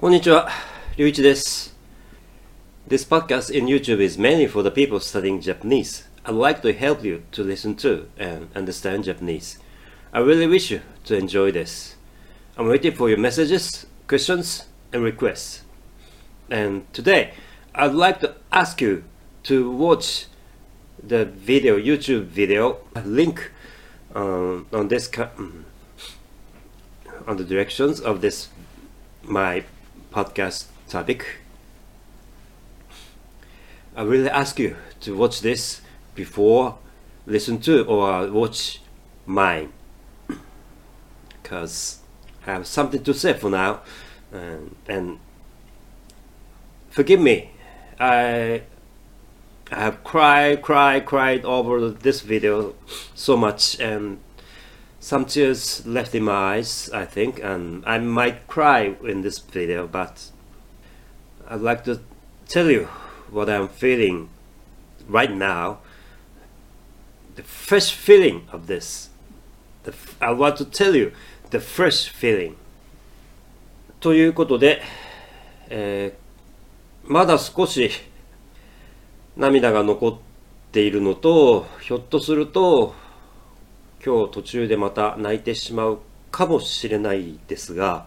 こんにちは、りゅういちです。This podcast in YouTube is mainly for the people studying Japanese. I'd like to help you to listen to and understand Japanese. I really wish you to enjoy this. I'm waiting for your messages, questions, and requests. And today, I'd like to ask you to watch the video, YouTube video, link on this on the directions of this my podcast topic. I really ask you to watch this before listen to or watch mine, because I have something to say for now, and forgive me. I have cried over this video so much, and some tears left in my eyes, I think, and I might cry in this video, but I'd like to tell you what I'm feeling right now, the fresh feeling of this. I want to tell you the fresh feeling. ということで、まだ少し涙が残っているのと、ひょっとすると今日途中でまた泣いてしまうかもしれないですが、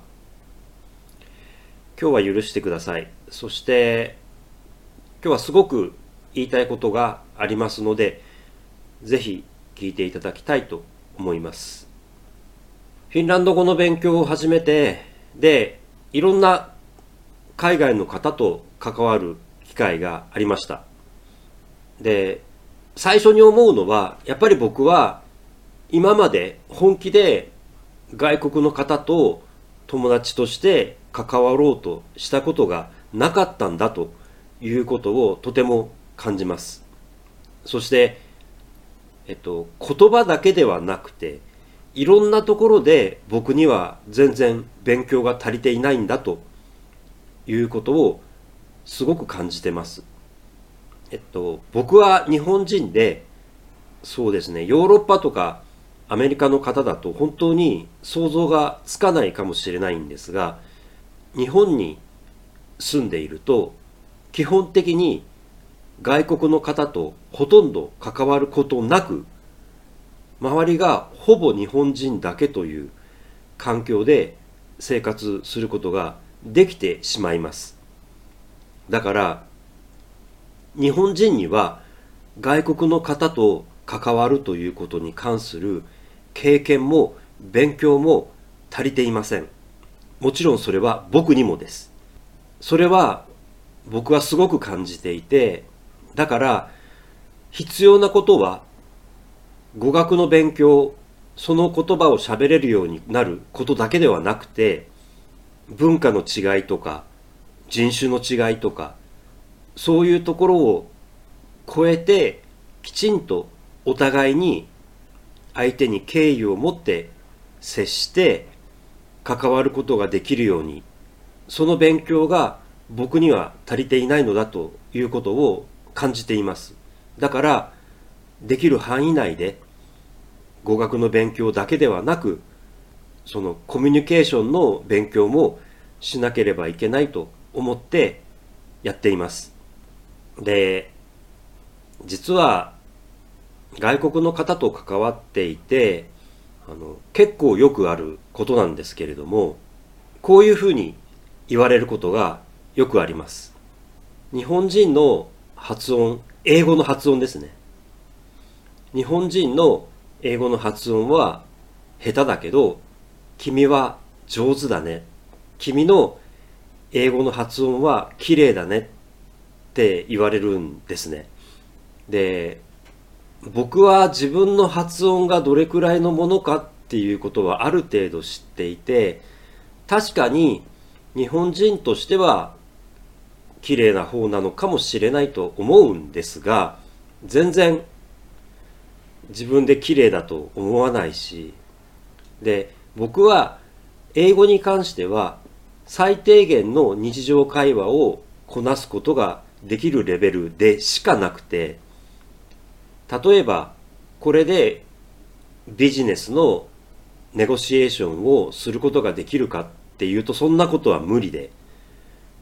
今日は許してください。そして今日はすごく言いたいことがありますので、ぜひ聞いていただきたいと思います。フィンランド語の勉強を始めて、で、いろんな海外の方と関わる機会がありました。で、最初に思うのは、やっぱり僕は今まで本気で外国の方と友達として関わろうとしたことがなかったんだということをとても感じます。そして、言葉だけではなくて、いろんなところで僕には全然勉強が足りていないんだということをすごく感じてます。僕は日本人で、そうですね、ヨーロッパとかアメリカの方だと本当に想像がつかないかもしれないんですが、日本に住んでいると基本的に外国の方とほとんど関わることなく、周りがほぼ日本人だけという環境で生活することができてしまいます。だから日本人には外国の方と関わるということに関する経験も勉強も足りていません。もちろんそれは僕にもです。それは僕はすごく感じていて、だから必要なことは語学の勉強、その言葉を喋れるようになることだけではなくて、文化の違いとか人種の違いとか、そういうところを超えてきちんとお互いに相手に敬意を持って接して関わることができるように、その勉強が僕には足りていないのだということを感じています。だからできる範囲内で語学の勉強だけではなく、そのコミュニケーションの勉強もしなければいけないと思ってやっています。で、実は外国の方と関わっていて、結構よくあることなんですけれども、こういうふうに言われることがよくあります。日本人の発音、英語の発音ですね。日本人の英語の発音は下手だけど、君は上手だね。君の英語の発音は綺麗だねって言われるんですね。で、僕は自分の発音がどれくらいのものかっていうことはある程度知っていて、確かに日本人としては綺麗な方なのかもしれないと思うんですが、全然自分で綺麗だと思わないし、で、僕は英語に関しては最低限の日常会話をこなすことができるレベルでしかなくて、例えばこれでビジネスのネゴシエーションをすることができるかっていうと、そんなことは無理で、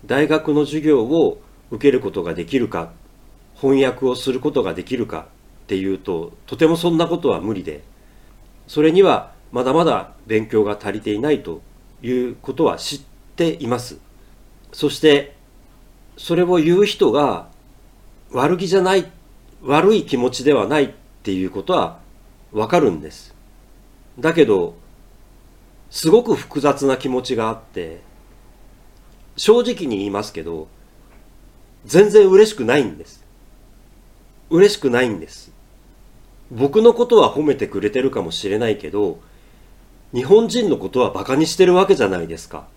大学の授業を受けることができるか、翻訳をすることができるかっていうと、とてもそんなことは無理で、それにはまだまだ勉強が足りていないということは知っています。そしてそれを言う人が悪気じゃない、悪い気持ちではないっていうことはわかるんです。だけどすごく複雑な気持ちがあって、正直に言いますけど、全然嬉しくないんです。嬉しくないんです。僕のことは褒めてくれてるかもしれないけど、日本人のことはバカにしてるわけじゃないですか。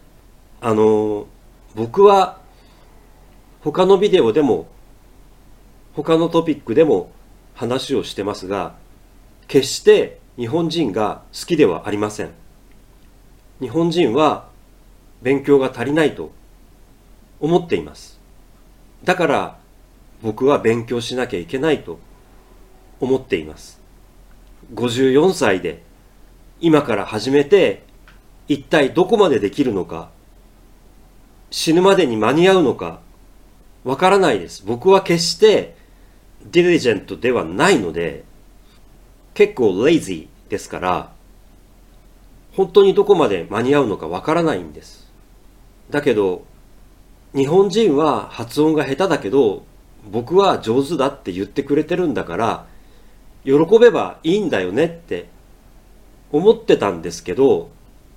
僕は他のビデオでも他のトピックでも話をしてますが、決して日本人が好きではありません。日本人は勉強が足りないと思っています。だから僕は勉強しなきゃいけないと思っています。54歳で今から始めて一体どこまでできるのか、死ぬまでに間に合うのかわからないです。僕は決してディリジェントではないので、結構レイジーですから、本当にどこまで間に合うのかわからないんです。だけど日本人は発音が下手だけど僕は上手だって言ってくれてるんだから、喜べばいいんだよねって思ってたんですけど、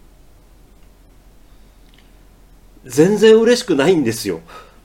全然嬉しくないんですよ。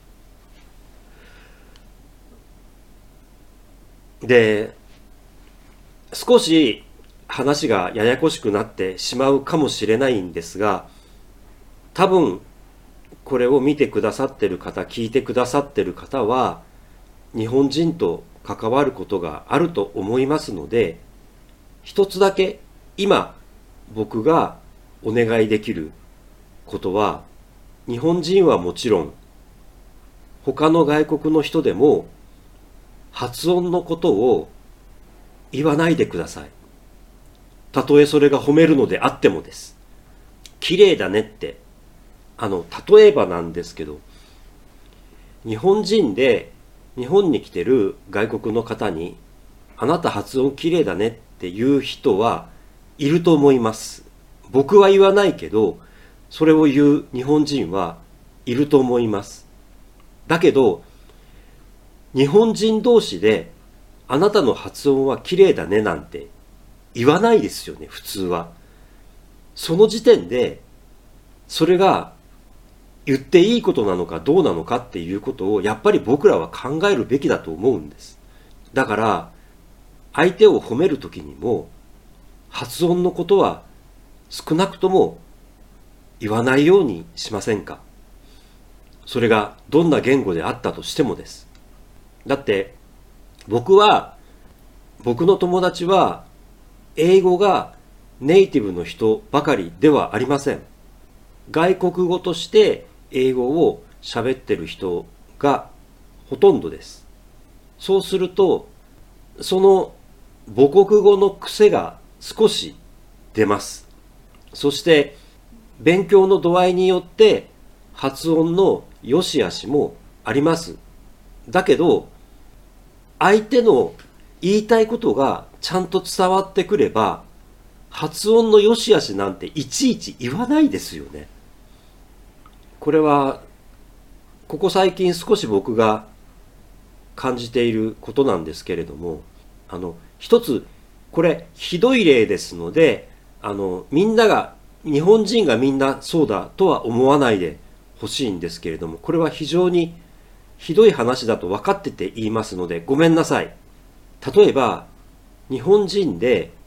で、少し話がややこしくなってしまうかもしれないんですが、多分これを見てくださってる方、聞いてくださってる方は日本人と関わることがあると思いますので、一つだけ今僕がお願いできることは、日本人はもちろん他の外国の人でも発音のことを言わないでください。たとえそれが褒めるのであってもです。綺麗だねって、例えばなんですけど、日本人で日本に来てる外国の方に、あなた発音綺麗だねっていう人はいると思います。僕は言わないけど、それを言う日本人はいると思います。だけど、日本人同士であなたの発音は綺麗だねなんて言わないですよね、普通は。その時点でそれが言っていいことなのかどうなのかっていうことをやっぱり僕らは考えるべきだと思うんです。だから相手を褒めるときにも発音のことは少なくとも言わないようにしませんか。それがどんな言語であったとしてもです。だって僕の友達は英語がネイティブの人ばかりではありません。外国語として英語を喋ってる人がほとんどです。そうするとその母国語の癖が少し出ます。そして勉強の度合いによって発音の良し悪しもあります。だけど相手の言いたいことがちゃんと伝わってくれば、発音の良し悪しなんていちいち言わないですよね。これはここ最近少し僕が感じていることなんですけれども、一つこれひどい例ですので、日本人がみんなそうだとは思わないでほしいんですけれども、これは非常にひどい話だと分かってて言いますのでごめんなさい。例えば日本人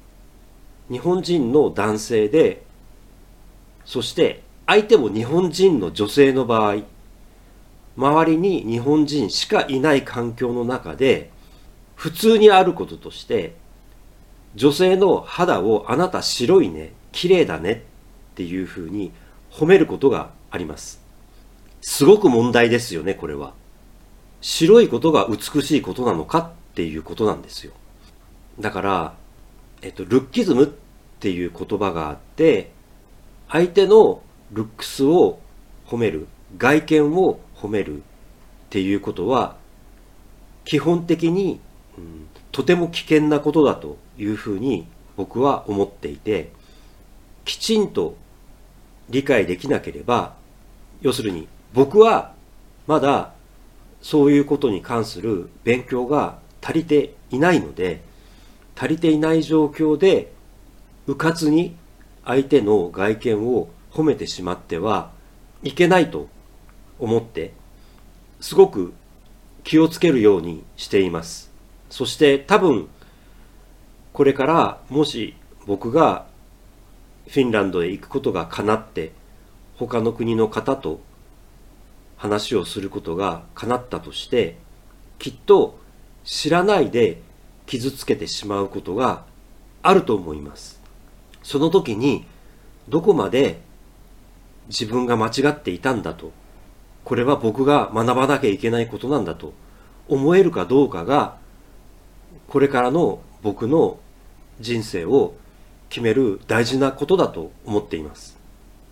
の男性で、そして相手も日本人の女性の場合、周りに日本人しかいない環境の中で普通にあることとして、女性の肌をあなた白いね、綺麗だねっていうふうに褒めることがあります。すごく問題ですよね、これは。白いことが美しいことなのかっていうことなんですよ。だから、ルッキズムっていう言葉があって、相手のルックスを褒める、 外見を褒めるっていうことは基本的に、とても危険なことだというふうに僕は思っていて、きちんと理解できなければ、要するに僕はまだそういうことに関する勉強が足りていないので、足りていない状況で迂闊に相手の外見を褒めてしまってはいけないと思って、すごく気をつけるようにしています。そして多分これからもし僕がフィンランドへ行くことが叶って、他の国の方と話をすることが叶ったとして、きっと知らないで傷つけてしまうことがあると思います。その時にどこまで自分が間違っていたんだと、これは僕が学ばなきゃいけないことなんだと思えるかどうかが、これからの僕の人生を決める大事なことだと思っています。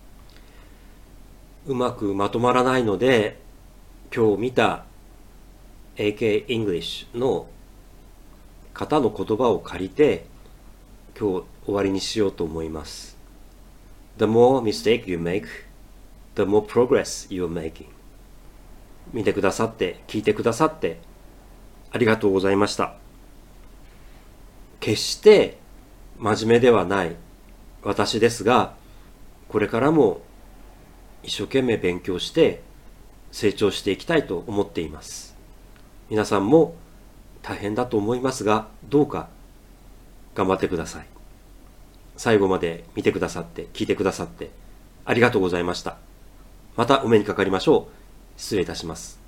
うまくまとまらないので、今日見た AK English の方の言葉を借りて今日終わりにしようと思います。The more mistake you make, the more progress you are making. 見てくださって、聞いてくださってありがとうございました。決して真面目ではない私ですが、これからも一生懸命勉強して成長していきたいと思っています。皆さんも大変だと思いますが、どうか頑張ってください。最後まで見てくださって、聞いてくださってありがとうございました。またお目にかかりましょう。失礼いたします。